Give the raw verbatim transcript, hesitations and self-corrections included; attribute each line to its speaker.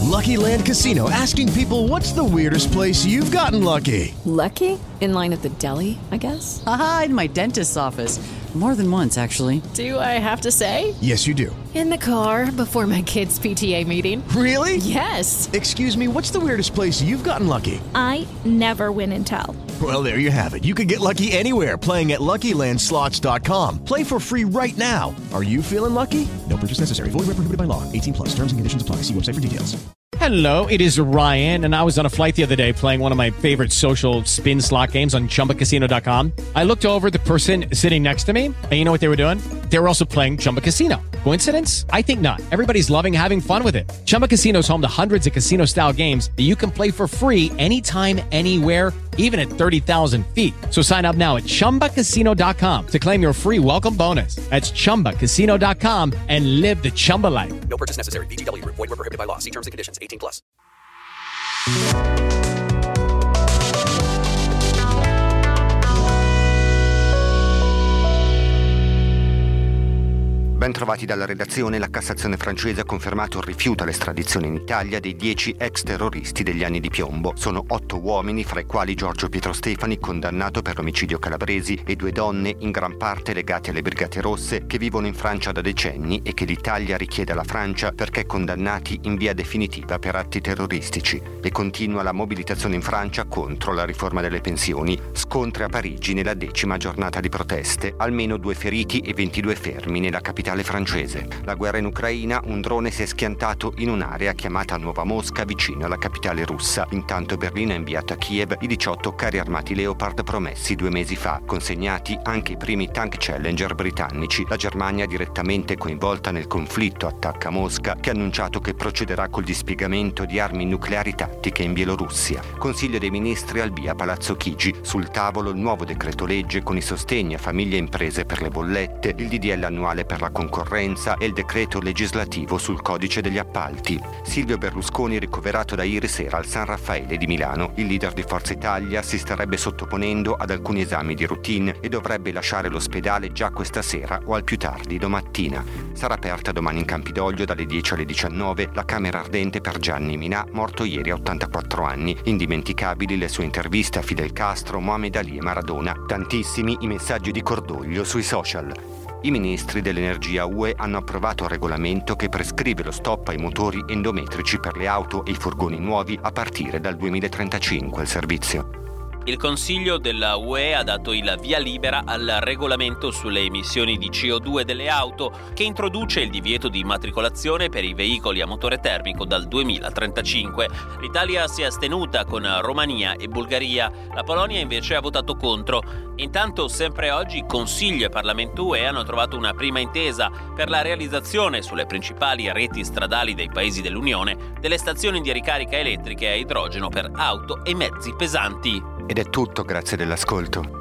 Speaker 1: Lucky Land Casino, asking people, what's the weirdest place you've gotten lucky?
Speaker 2: Lucky? In line at the deli, I guess?
Speaker 3: Aha, in my dentist's office. More than once, actually.
Speaker 2: Do I have to say?
Speaker 1: Yes, you do.
Speaker 2: In the car before my kids' P T A meeting.
Speaker 1: Really?
Speaker 2: Yes.
Speaker 1: Excuse me, what's the weirdest place you've gotten lucky?
Speaker 4: I never win and tell.
Speaker 1: Well, there you have it. You can get lucky anywhere, playing at Lucky Land Slots dot com. Play for free right now. Are you feeling lucky? No purchase necessary. Void where prohibited by law. eighteen plus. Terms and conditions apply. See website for details.
Speaker 5: Hello, it is Ryan, and I was on a flight the other day playing one of my favorite social spin slot games on Chumba Casino dot com. I looked over at the person sitting next to me, and you know what they were doing? They were also playing Chumba Casino. Coincidence? I think not. Everybody's loving having fun with it. Chumba Casino is home to hundreds of casino-style games that you can play for free anytime, anywhere, even at thirty thousand feet. So sign up now at Chumba Casino dot com to claim your free welcome bonus. That's Chumba Casino dot com and live the Chumba life.
Speaker 6: No purchase necessary. V G W. Void where prohibited by law. See terms and conditions. eighteen plus.
Speaker 7: Ben trovati dalla redazione. La Cassazione francese ha confermato il rifiuto all'estradizione in Italia dei dieci ex terroristi degli anni di piombo. Sono otto uomini, fra i quali Giorgio Pietro Stefani, condannato per l'omicidio calabresi, e due donne, in gran parte legate alle Brigate Rosse, che vivono in Francia da decenni e che l'Italia richiede alla Francia perché condannati in via definitiva per atti terroristici. E continua la mobilitazione in Francia contro la riforma delle pensioni. Scontri a Parigi nella decima giornata di proteste. Almeno due feriti e ventidue fermi nella capitale francese. La guerra in Ucraina, un drone si è schiantato in un'area chiamata Nuova Mosca, vicino alla capitale russa. Intanto Berlino ha inviato a Kiev i diciotto carri armati Leopard promessi due mesi fa, consegnati anche i primi tank Challenger britannici. La Germania, direttamente coinvolta nel conflitto, attacca Mosca, che ha annunciato che procederà col dispiegamento di armi nucleari tattiche in Bielorussia. Consiglio dei ministri al via Palazzo Chigi. Sul tavolo il nuovo decreto legge con i sostegni a famiglie e imprese per le bollette, il D D L annuale per la concorrenza e il decreto legislativo sul codice degli appalti. Silvio Berlusconi ricoverato da ieri sera al San Raffaele di Milano. Il leader di Forza Italia si starebbe sottoponendo ad alcuni esami di routine e dovrebbe lasciare l'ospedale già questa sera o al più tardi domattina. Sarà aperta domani in Campidoglio dalle dieci alle diciannove la camera ardente per Gianni Minà, morto ieri a ottantaquattro anni. Indimenticabili le sue interviste a Fidel Castro, Mohamed Ali e Maradona. Tantissimi i messaggi di cordoglio sui social. I ministri dell'energia U E hanno approvato un regolamento che prescrive lo stop ai motori endometrici per le auto e i furgoni nuovi a partire dal duemilatrentacinque al servizio.
Speaker 8: Il Consiglio della U E ha dato il via libera al regolamento sulle emissioni di C O due delle auto, che introduce il divieto di immatricolazione per i veicoli a motore termico dal duemilatrentacinque. L'Italia si è astenuta con Romania e Bulgaria, la Polonia invece ha votato contro. Intanto, sempre oggi, Consiglio e Parlamento U E hanno trovato una prima intesa per la realizzazione sulle principali reti stradali dei paesi dell'Unione delle stazioni di ricarica elettriche a idrogeno per auto e mezzi pesanti.
Speaker 7: Ed è tutto, grazie dell'ascolto.